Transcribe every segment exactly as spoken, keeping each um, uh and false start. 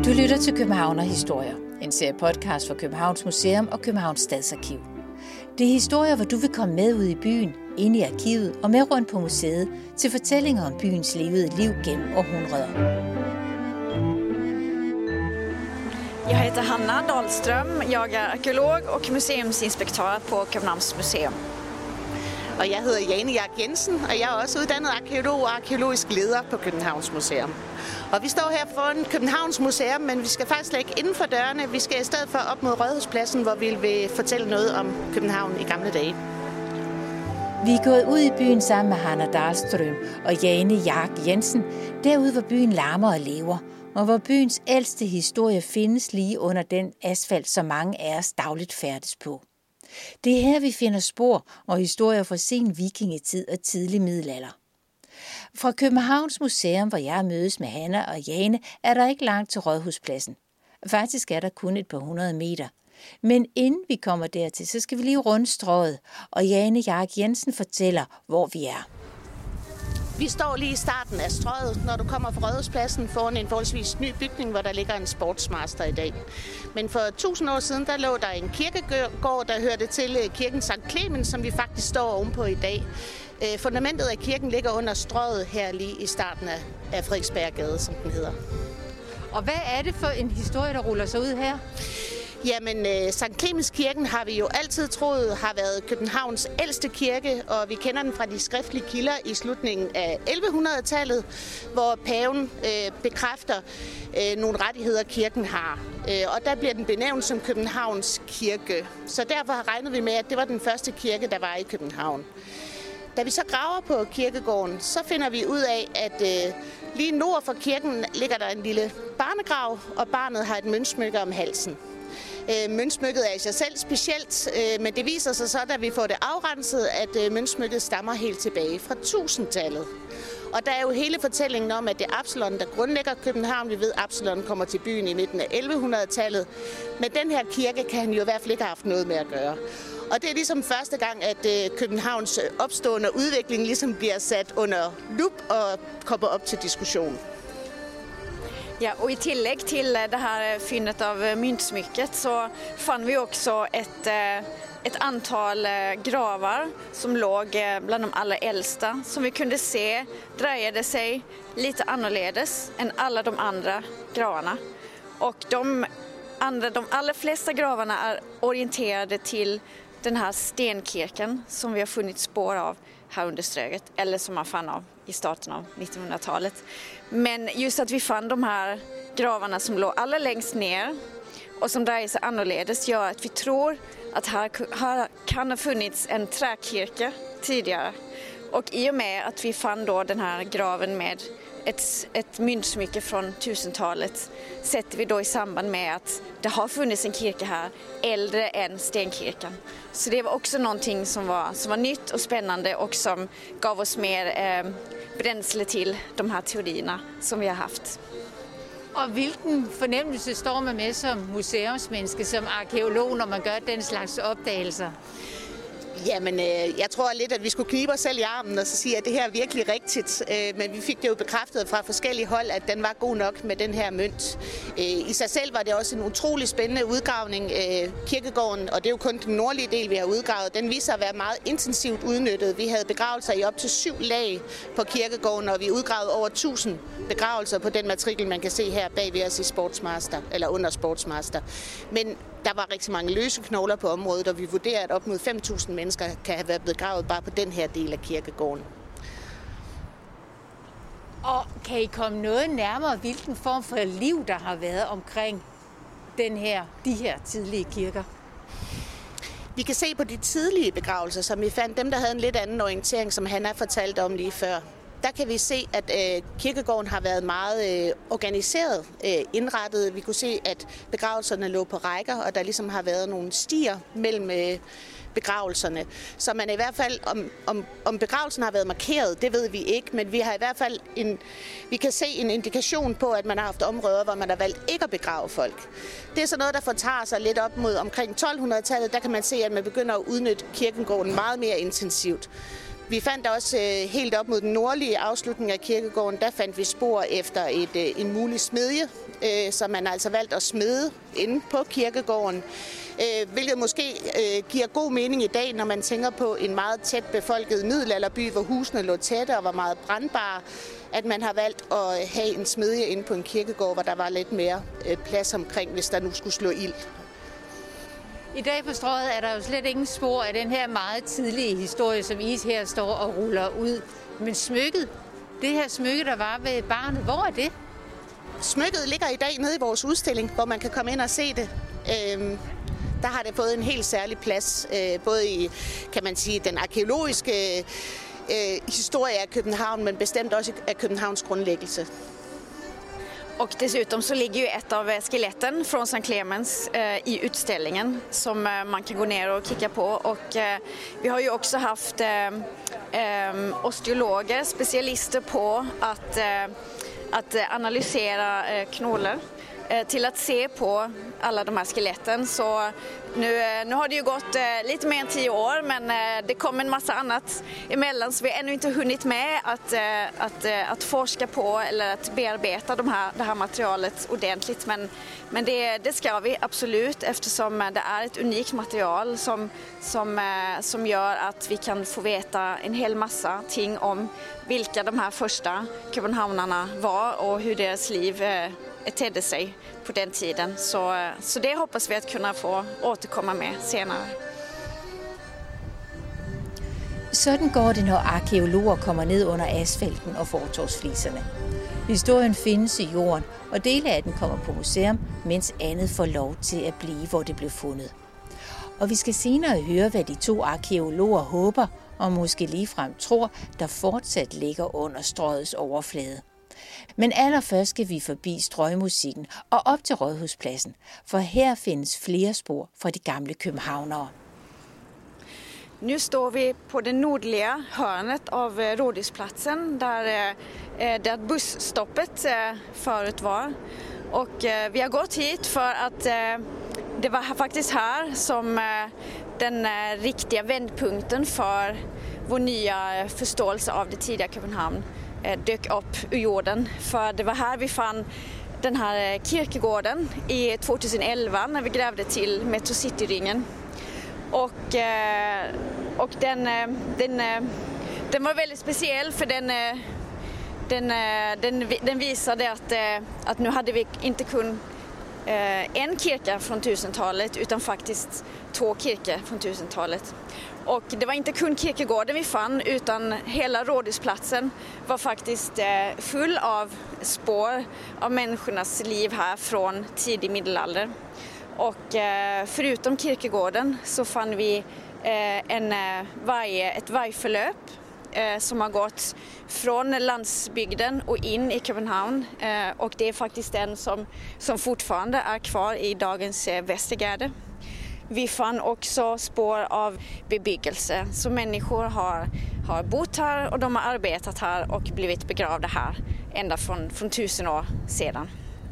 Du lytter til Københavnerhistorier, en serie podcast for Københavns Museum og Københavns Stadsarkiv. Det er historier, hvor du vil komme med ud i byen, ind i arkivet og med rundt på museet til fortællinger om byens levede liv gennem århundreder. Jag heter Hanna Dahlström, jag är arkeolog och museumsinspektør på Københavns Museum. Og jeg hedder Jane Jark Jensen, og jeg er også uddannet arkeolog og arkeologisk leder på Københavns Museum. Og vi står her foran Københavns Museum, men vi skal faktisk ikke inden for dørene. Vi skal i stedet for op mod Rådhuspladsen, hvor vi vil fortælle noget om København i gamle dage. Vi er gået ud i byen sammen med Hanna Dahlström og Jane Jark Jensen, derude hvor byen larmer og lever, og hvor byens ældste historie findes lige under den asfalt, som mange af os dagligt færdes på. Det er her, vi finder spor og historier fra sen vikingetid og tidlig middelalder. Fra Københavns Museum, hvor jeg mødes med Hanna og Jane, er der ikke langt til Rådhuspladsen. Faktisk er der kun et par hundrede meter. Men inden vi kommer dertil, så skal vi lige runde strået, og Jane Jark Jensen fortæller, hvor vi er. Vi står lige i starten af strøget, når du kommer fra Rådhuspladsen foran en forholdsvis ny bygning, hvor der ligger en sportsmaster i dag. Men for tusind år siden, der lå der en kirkegård, der hørte til kirken Sankt Clemens, som vi faktisk står ovenpå i dag. Fundamentet af kirken ligger under strøget her lige i starten af Frederiksberggade, som den hedder. Og hvad er det for en historie, der ruller sig ud her? Jamen, Sankt Clemens kirken har vi jo altid troet har været Københavns ældste kirke, og vi kender den fra de skriftlige kilder i slutningen af elleve hundrede-tallet, hvor paven øh, bekræfter øh, nogle rettigheder, kirken har. Øh, og der bliver den benævnt som Københavns kirke. Så derfor regnede vi med, at det var den første kirke, der var i København. Da vi så graver på kirkegården, så finder vi ud af, at øh, lige nord for kirken ligger der en lille barnegrav, og barnet har et møntsmykke om halsen. Øh, møntsmykket er i sig selv specielt, øh, men det viser sig så, da vi får det afrenset, at øh, møntsmykket stammer helt tilbage fra tusindtallet. Og der er jo hele fortællingen om, at det er Absalon, der grundlægger København. Vi ved, at Absalon kommer til byen i midten af elleve hundrede-tallet. Men den her kirke kan han jo i hvert fald ikke have haft noget med at gøre. Og det er ligesom første gang, at øh, Københavns opstående udvikling ligesom bliver sat under lup og kommer op til diskussion. Ja, och i tillägg till det här fyndet av myntsmycket så fann vi också ett, ett antal gravar som låg bland de allra äldsta, som vi kunde se dröjade sig lite annorledes än alla de andra gravarna. Och de, andra, de allra flesta gravarna är orienterade till den här stenkirken som vi har funnit spår av här under Ströget, eller som man fann av i starten av nittonhundratalet. Men just att vi fann de här gravarna som låg allra längst ner och som dröjer sig annorledes gör att vi tror att här, här kan ha funnits en träkirke tidigare. Och i och med att vi fann då den här graven med ett, ett myntsmycke från tusentalet sätter vi då i samband med att det har funnits en kirke här äldre än stenkirken. Så det var också någonting som var, som var nytt och spännande och som gav oss mer eh, bränsle till de här teorierna som vi har haft. Og hvilken fornemmelse står man med som museumsmenneske, som arkeolog, når man gør den slags opdagelser? Jamen, øh, jeg tror lidt, at vi skulle knibe os selv i armen og så sige, at det her er virkelig rigtigt. Øh, men vi fik det jo bekræftet fra forskellige hold, at den var god nok med den her mønt. Øh, I sig selv var det også en utrolig spændende udgravning. Øh, kirkegården, og det er jo kun den nordlige del, vi har udgravet, den viser at være meget intensivt udnyttet. Vi havde begravelser i op til syv lag på kirkegården, og vi udgravede over tusind begravelser på den matrikel, man kan se her bag ved os i Sportsmaster, eller under Sportsmaster. Men der var rigtig mange løse knogler på området, og vi vurderer, at op mod fem tusind mennesker kan have været begravet bare på den her del af kirkegården. Og kan I komme noget nærmere, hvilken form for liv, der har været omkring den her, de her tidlige kirker? Vi kan se på de tidlige begravelser, som vi fandt, dem der havde en lidt anden orientering, som Hanna fortalte om lige før. Der kan vi se, at øh, kirkegården har været meget øh, organiseret, øh, indrettet. Vi kunne se, at begravelserne lå på rækker, og der ligesom har været nogle stier mellem øh, begravelserne. Så man i hvert fald, om, om, om begravelsen har været markeret, det ved vi ikke, men vi har i hvert fald en, vi kan se en indikation på, at man har haft områder, hvor man har valgt ikke at begrave folk. Det er så noget, der fortager sig lidt op mod omkring tolv hundrede-tallet. Der kan man se, at man begynder at udnytte kirkegården meget mere intensivt. Vi fandt også øh, helt op mod den nordlige afslutning af kirkegården, der fandt vi spor efter et, øh, en mulig smedje, øh, som man altså valgt at smede inde på kirkegården. Øh, hvilket måske øh, giver god mening i dag, når man tænker på en meget tæt befolket middelalderby, hvor husene lå tætte og var meget brandbare, at man har valgt at have en smedje inde på en kirkegård, hvor der var lidt mere øh, plads omkring, hvis der nu skulle slå ild. I dag på Strøget er der jo slet ingen spor af den her meget tidlige historie, som I her står og ruller ud. Men smykket, det her smykke, der var ved barnet, hvor er det? Smykket ligger i dag nede i vores udstilling, hvor man kan komme ind og se det. Øhm, der har det fået en helt særlig plads, øh, både i, kan man sige, den arkeologiske øh, historie af København, men bestemt också af Københavns grundlæggelse. Och dessutom så ligger ju ett av skeletten från Sankt Clemens eh, i utställningen som eh, man kan gå ner och kika på. Och eh, vi har ju också haft eh, eh, osteologer, specialister på att, eh, att analysera eh, knolar eh, till att se på alla de här skeletten. Så nu, nu har det ju gått eh, lite mer än tio år, men eh, det kom en massa annat emellan, så vi har ännu inte hunnit med att, eh, att, eh, att forska på eller att bearbeta de här, det här materialet ordentligt. Men, men det, det ska vi absolut, eftersom det är ett unikt material som, som, eh, som gör att vi kan få veta en hel massa ting om vilka de här första köpenhamnarna var och hur deras liv eh, tedde sig på den tiden. Så, så det hoppas vi att kunna få återkomma med senere. Sådan går det, når arkeologer kommer ned under asfalten og fortovsfliserne. Historien findes i jorden, og dele af den kommer på museum, mens andet får lov til at blive, hvor det blev fundet. Og vi skal senere høre, hvad de to arkeologer håber, og måske ligefrem tror, der fortsat ligger under Strøgets overflade. Men allerførst skal vi forbi strøgmusikken og op til Rådhuspladsen, for her findes flere spor fra de gamle københavnere. Nu står vi på det nordliga hörnet av Rådhusplatsen där, där busstoppet förut var. Och vi har gått hit för att det var faktiskt här som den riktiga vändpunkten för vår nya förståelse av det tidiga København dök upp ur jorden. För det var här vi fann den här kirkegården i tjugoelva när vi grävde till Metro City-ringen. Och, och den, den, den var väldigt speciell, för den, den, den, den visade att, att nu hade vi inte kun en kyrka från tusentalet utan faktiskt två kyrkor från tusentalet. Och det var inte kun kirkegården vi fann, utan hela Rådhusplatsen var faktiskt full av spår av människornas liv här från tidig middelalder. Och förutom kirkegården så fann vi en varje, ett vargförlöp som har gått från landsbygden och in i København. Och det är faktiskt den som, som fortfarande är kvar i dagens Vestergade. Vi fann också spår av bebyggelse, så människor har, har bott här och de har arbetat här och blivit begravda här ända från, från tusen år sedan.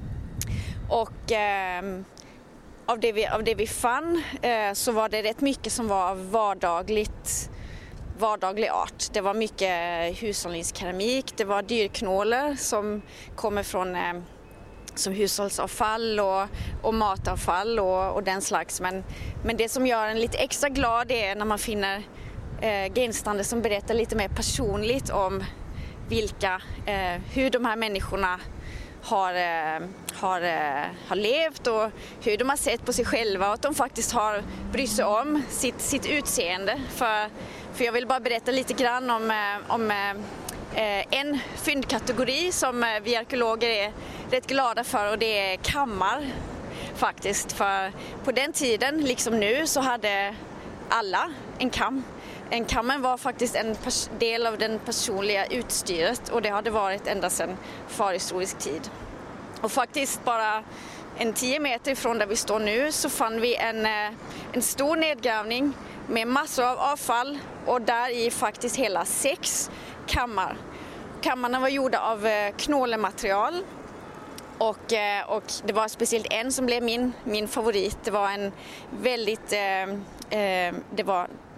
Och eh, av, det vi, av det vi fann eh, så var det rätt mycket som var vardagligt, vardaglig art. Det var mycket hushållningskeramik, det var dyrknålar som kommer från eh, som hushållsavfall och, och matavfall och, och den slags. Men, men det som gör en lite extra glad är när man finner eh, genstande som berättar lite mer personligt om vilka, eh, hur de här människorna har, eh, har, eh, har levt och hur de har sett på sig själva och att de faktiskt har brytt sig om sitt, sitt utseende. För, för jag vill bara berätta lite grann om, eh, om eh, en fyndkategori som vi arkeologer är rätt glada för, och det är kammar faktiskt. För på den tiden, liksom nu, så hade alla en kam. En kammen var faktiskt en del av den personliga utstyret, och det hade varit ända sedan förhistorisk tid. Och faktiskt bara en tio meter ifrån där vi står nu så fann vi en, en stor nedgrävning med massor av avfall, och där i faktiskt hela sex kammar. Kammarna var gjorda av knålematerial, och, och det var speciellt en som blev min, min favorit. Det var en väldigt, eh, det var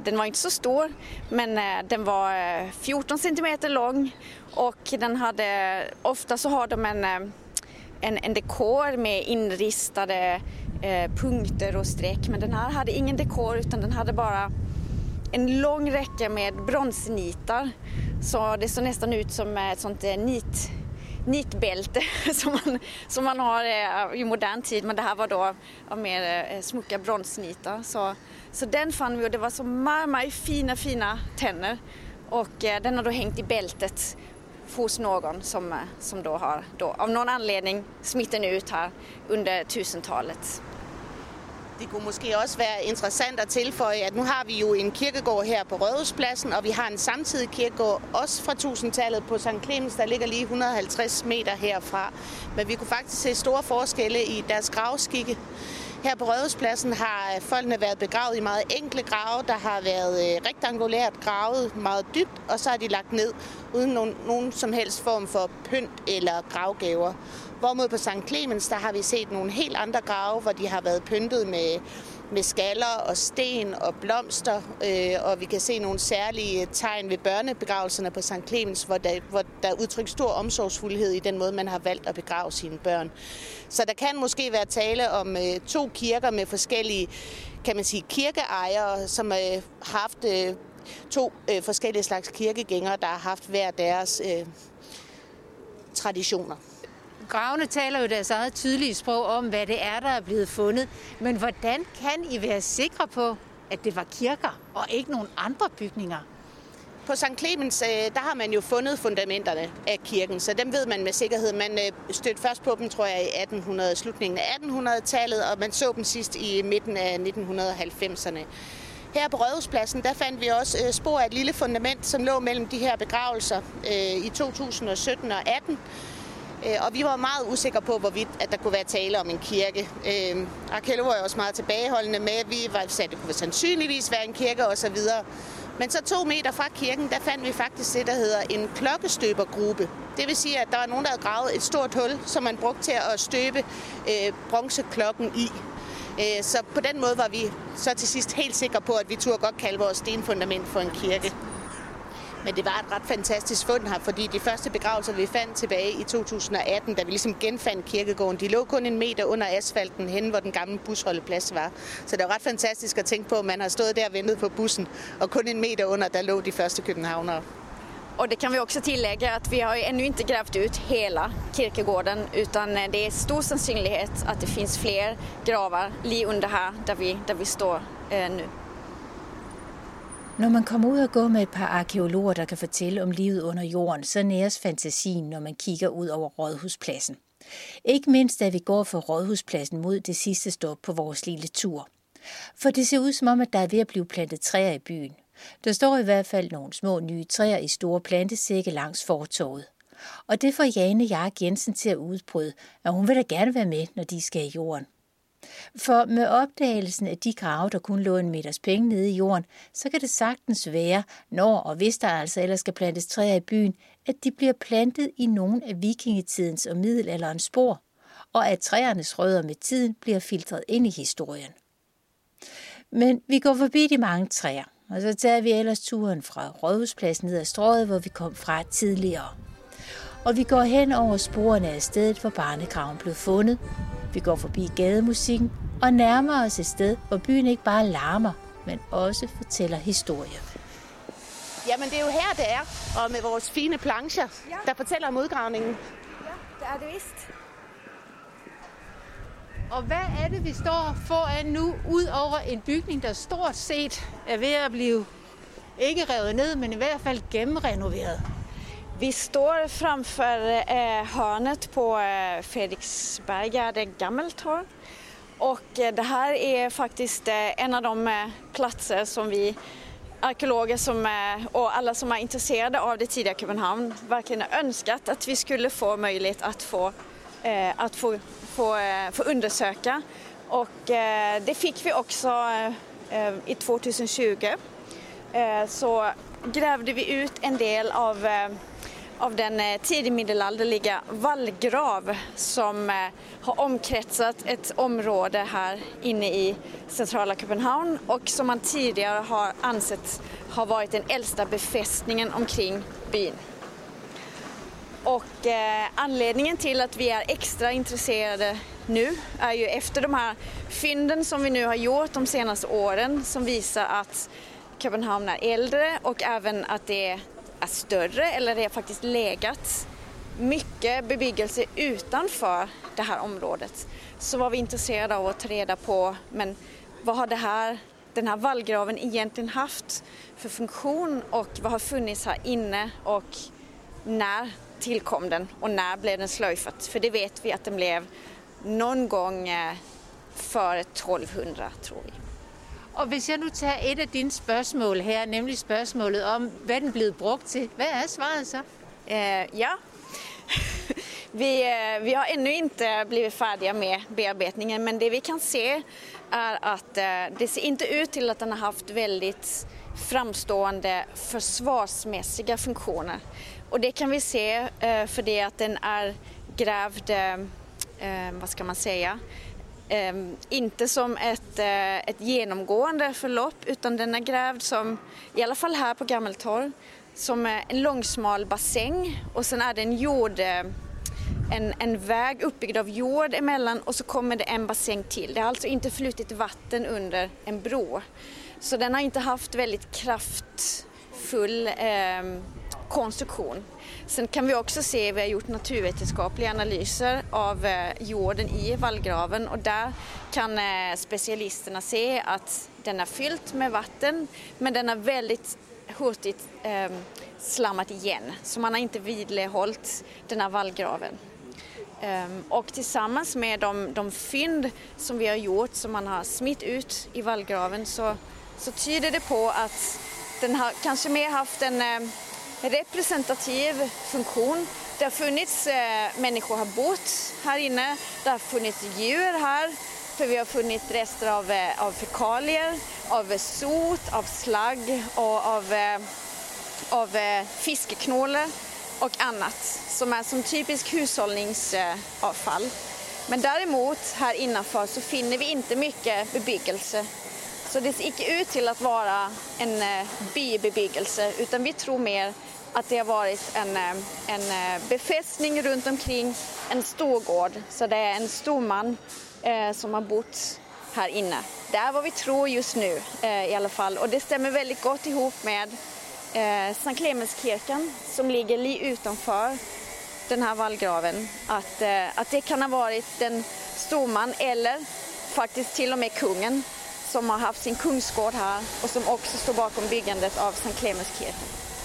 den var inte så stor, men den var fjorton centimeter lång och den hade, ofta så har de en, en, en dekor med inristade eh, punkter och streck, men den här hade ingen dekor utan den hade bara en lång räcka med bronsnitar, så det såg nästan ut som ett sånt nit nitbälte som man, som man har i modern tid, men det här var då av mer smucka bronsnitar. Så, så den fann vi och det var så marmar fina, fina tänder och den har då hängt i bältet hos någon som, som då har då, av någon anledning smitten ut här under tusentalet. Det kunne måske også være interessant at tilføje, at nu har vi jo en kirkegård her på Rådhuspladsen, og vi har en samtidig kirkegård også fra tusindtallet på Sankt Clemens, der ligger lige et hundrede og halvtreds meter herfra. Men vi kunne faktisk se store forskelle i deres gravskikke. Her på Rådhuspladsen har folkene været begravet i meget enkle grave, der har været rektangulært gravet meget dybt, og så er de lagt ned uden nogen, nogen som helst form for pynt eller gravgaver. Hvorimod på Sankt Clemens, der har vi set nogle helt andre grave, hvor de har været pyntet med, med skaller og sten og blomster, øh, og vi kan se nogle særlige tegn ved børnebegravelserne på Sankt Clemens, hvor der, hvor der er udtrykt stor omsorgsfuldhed i den måde, man har valgt at begrave sine børn. Så der kan måske være tale om øh, to kirker med forskellige, kan man sige, kirkeejere, som øh, har haft øh, to øh, forskellige slags kirkegængere, der har haft hver deres øh, traditioner. Gravene taler jo deres eget tydelige sprog om, hvad det er, der er blevet fundet. Men hvordan kan I være sikre på, at det var kirker og ikke nogen andre bygninger? På Sankt Clemens, der har man jo fundet fundamenterne af kirken, så dem ved man med sikkerhed. Man stødte først på dem, tror jeg, i atten hundrede, slutningen af attenhundredetallet, og man så dem sidst i midten af nitten halvfemserne. Her på Rådhuspladsen, der fandt vi også spor af et lille fundament, som lå mellem de her begravelser i to tusind og sytten og atten. Og vi var meget usikre på, hvorvidt at der kunne være tale om en kirke. Øh, Arkeologer var også meget tilbageholdende med, at vi var, sagde, at det kunne sandsynligvis være en kirke osv. Men så to meter fra kirken, der fandt vi faktisk det, der hedder en klokkestøbergruppe. Det vil sige, at der var nogen, der havde gravet et stort hul, som man brugte til at støbe øh, bronzeklokken i. Øh, så på den måde var vi så til sidst helt sikre på, at vi turde godt kalde vores stenfundament for en kirke. Men det var et ret fantastisk fund her, fordi de første begravelser, vi fandt tilbage i to tusind og atten, da vi ligesom genfandt kirkegården, de lå kun en meter under asfalten hen, hvor den gamle busholdeplads var. Så det var ret fantastisk at tænke på, at man har stået der og ventet på bussen, og kun en meter under, der lå de første københavnere. Och det kan vi också tillägga att vi har ju ännu inte grävt ut hela kirkegården, utan det är stor sannsynlighet att det finns fler gravar lige under här där vi, där vi står eh, nu. Når man kommer ud og går med et par arkeologer, der kan fortælle om livet under jorden, så næres fantasien, når man kigger ud over Rådhuspladsen. Ikke mindst, da vi går fra Rådhuspladsen mod det sidste stop på vores lille tur. For det ser ud som om, at der er ved at blive plantet træer i byen. Der står i hvert fald nogle små nye træer i store plantesække langs fortovet. Og det får Jane Jark Jensen til at udbryde, at hun vil da gerne være med, når de skal i jorden. For med opdagelsen af de grave, der kun lå en meters penge nede i jorden, så kan det sagtens være, når og hvis der altså ellers skal plantes træer i byen, at de bliver plantet i nogle af vikingetidens og middelalderens spor, og at træernes rødder med tiden bliver filtreret ind i historien. Men vi går forbi de mange træer, og så tager vi ellers turen fra Rådhuspladsen ned ad Strøget, hvor vi kom fra tidligere. Og vi går hen over sporene af stedet, hvor barnegraven blev fundet. Vi går forbi gademusikken og nærmer os et sted, hvor byen ikke bare larmer, men også fortæller historie. Jamen det er jo her, det er, og med vores fine plancher, ja, der fortæller om udgravningen. Ja, det er det vist. Og hvad er det, vi står foran nu, ud over en bygning, der stort set er ved at blive ikke revet ned, men i hvert fald gennemrenoveret? Vi står framför eh, hörnet på eh, Fredriksberggärde Gammeltorv, och eh, det här är faktiskt eh, en av de eh, platser som vi arkeologer som, eh, och alla som är intresserade av det tidiga Köpenhamn verkligen har önskat att vi skulle få möjlighet att få, eh, att få, få, eh, få undersöka. Och eh, det fick vi också eh, i tjugo tjugo. Eh, så grävde vi ut en del av eh, av den tidigmiddelalderliga vallgrav som har omkretsat ett område här inne i centrala Köpenhamn och som man tidigare har ansett har varit den äldsta befästningen omkring byn. Och eh, anledningen till att vi är extra intresserade nu är ju efter de här fynden som vi nu har gjort de senaste åren som visar att Köpenhamn är äldre och även att det är större eller det har faktiskt legat mycket bebyggelse utanför det här området. Så var vi intresserade av att ta reda på, men vad har det här, den här vallgraven egentligen haft för funktion och vad har funnits här inne och när tillkom den och när blev den slöjfat? För det vet vi att den blev någon gång före tolvhundra, tror vi. Og hvis jeg nu tager et af dine spørgsmål her, nemlig spørgsmålet om, hvad den er blevet brugt til, hvad er svaret så? Eh, ja, vi, eh, vi har ännu inte blivit färdiga med bearbetningen, men det vi kan se är att eh, det ser inte ut till att den har haft väldigt framstående försvarsmässiga funktioner. Och det kan vi se eh, för det att den är grävd, eh, vad ska man säga, eh, inte som ett, eh, ett genomgående förlopp utan den är grävd som, i alla fall här på Gammeltorv, som en långsmal bassäng och sen är det en jord, en, en väg uppbyggd av jord emellan och så kommer det en bassäng till. Det har alltså inte flutit vatten under en bro. Så den har inte haft väldigt kraftfull eh, konstruktion. Sen kan vi också se, vi har gjort naturvetenskapliga analyser av eh, jorden i vallgraven och där kan eh, specialisterna se att den är fyllt med vatten men den är väldigt hurtigt eh, slammat igen. Så man har inte vidlehållit den här vallgraven. Um, och tillsammans med de, de fynd som vi har gjort som man har smitt ut i vallgraven så, så tyder det på att den har kanske mer haft en eh, representativ funktion. Det har funnits eh, människor har bott här inne, det har funnits djur här för vi har funnit rester av, eh, av fekalier, av sot, av slagg och av, eh, av eh, fiskeknålar och annat som är som typisk hushållningsavfall. Men däremot här innanför så finner vi inte mycket bebyggelse. Så det ser inte ut till att vara en eh, bybebyggelse utan vi tror mer att det har varit en, en befästning runt omkring en storgård. Så det är en storman eh, som har bott här inne. Det är vad vi tror just nu eh, i alla fall. Och det stämmer väldigt gott ihop med eh, Sankt Clemenskirken som ligger li utanför den här vallgraven. Att, eh, att det kan ha varit den storman eller faktiskt till och med kungen som har haft sin kungsgård här och som också står bakom byggandet av Sankt Clemenskirken.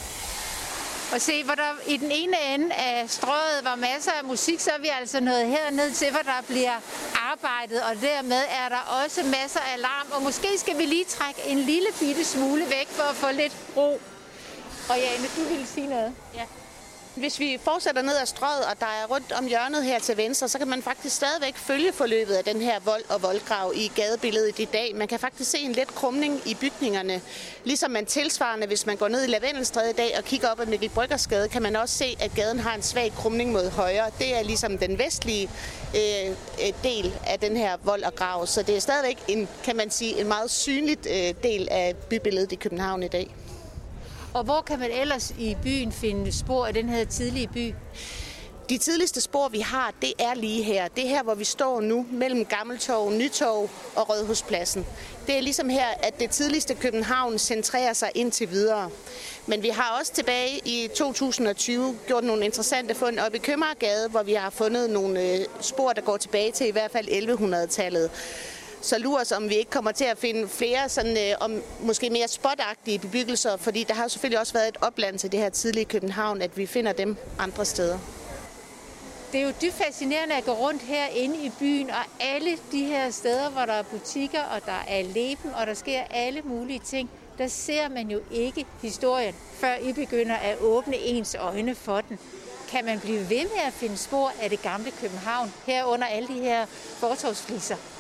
Og se, hvor der i den ene ende af strøget var masser af musik, så er vi altså nået herned til, hvor der bliver arbejdet, og dermed er der også masser af larm. Og måske skal vi lige trække en lille bitte smule væk for at få lidt ro. Og Jane, du ville sige noget? Ja. Hvis vi fortsætter ned ad strøget, og der er rundt om hjørnet her til venstre, så kan man faktisk stadigvæk følge forløbet af den her vold og voldgrav i gadebilledet i dag. Man kan faktisk se en let krumning i bygningerne. Ligesom man tilsvarende, hvis man går ned i Lavendelstræde i dag og kigger op ad Mikkel Bryggers Gade, kan man også se, at gaden har en svag krumning mod højre. Det er ligesom den vestlige øh, del af den her vold og grav. Så det er stadigvæk en, kan man sige, en meget synligt øh, del af bybilledet i København i dag. Og hvor kan man ellers i byen finde spor af den her tidlige by? De tidligste spor, vi har, det er lige her. Det er her, hvor vi står nu, mellem Gammeltorv, Nytorv og Rådhuspladsen. Det er ligesom her, at det tidligste København centrerer sig indtil videre. Men vi har også tilbage i to tusind og tyve gjort nogle interessante fund oppe i Købmagergade, hvor vi har fundet nogle spor, der går tilbage til i hvert fald elleve hundrede-tallet. Så lurer os, om vi ikke kommer til at finde flere sådan, øh, om måske mere spotagtige bebyggelser, fordi der har selvfølgelig også været et opland til det her tidlige København, at vi finder dem andre steder. Det er jo dybt fascinerende at gå rundt herinde i byen, og alle de her steder, hvor der er butikker, og der er leben, og der sker alle mulige ting, der ser man jo ikke historien, før I begynder at åbne ens øjne for den. Kan man blive ved med at finde spor af det gamle København, herunder alle de her fortovsfliser?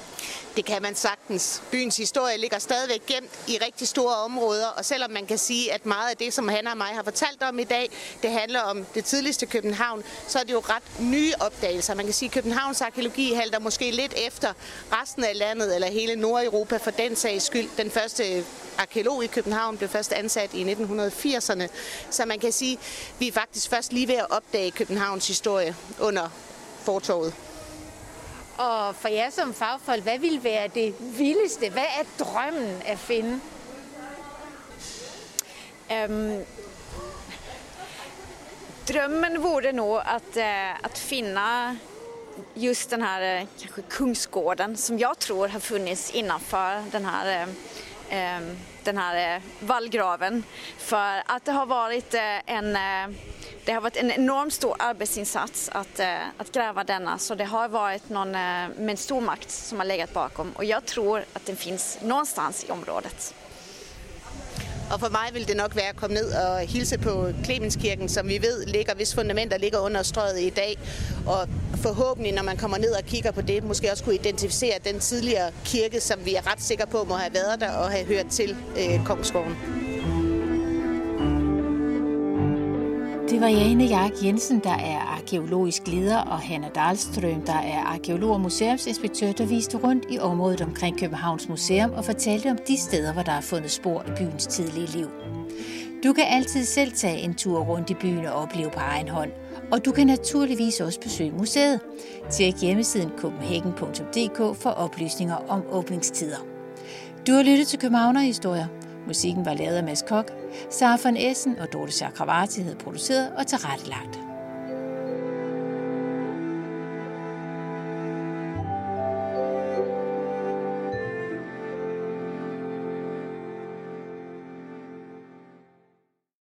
Det kan man sagtens. Byens historie ligger stadigvæk gemt i rigtig store områder, og selvom man kan sige, at meget af det, som Hanna og mig har fortalt om i dag, det handler om det tidligste København, så er det jo ret nye opdagelser. Man kan sige, at Københavns arkæologi halter måske lidt efter resten af landet, eller hele Nordeuropa for den sags skyld. Den første arkæolog i København blev først ansat i nitten firserne, så man kan sige, at vi er faktisk først lige ved at opdage Københavns historie under fortovet. Og for jer som fagfolk, hvad vil være det vildeste? Hvad er drømmen at finde? Um, drömmen vore nog att, uh, att finna just den här uh, kanske kungsgården som jag tror har funnits innanför den här, uh, um, den här uh, vallgraven. För att det har varit uh, en... Uh, Det har varit en enormt stor arbetsinsats att, att gräva denna, så det har varit någon med en stor makt som har legat bakom, och jag tror att den finns någonstans i området. Og for mig vil det nok være at komme ned og hilse på Klemenskirken, som vi ved ligger, hvis fundamenter ligger under strøget i dag, og forhåbentlig, når man kommer ned og kigger på det, måske også kunne identificere den tidligere kirke, som vi er ret sikre på må have været der og have hørt til øh, Kongsgården. Det var Jane Jark Jensen, der er arkæologisk leder, og Hanna Dahlström, der er arkeolog og museumsinspektør, der viste rundt i området omkring Københavns Museum og fortalte om de steder, hvor der er fundet spor af byens tidlige liv. Du kan altid selv tage en tur rundt i byen og opleve på egen hånd, og du kan naturligvis også besøge museet. Tjek hjemmesiden copenhagen punktum d k for oplysninger om åbningstider. Du har lyttet til Københavnerhistorier. Musikken var lavet af Mads Kok. Sara von Essen og Dorte Chakravarty havde produceret og tilrettelagt.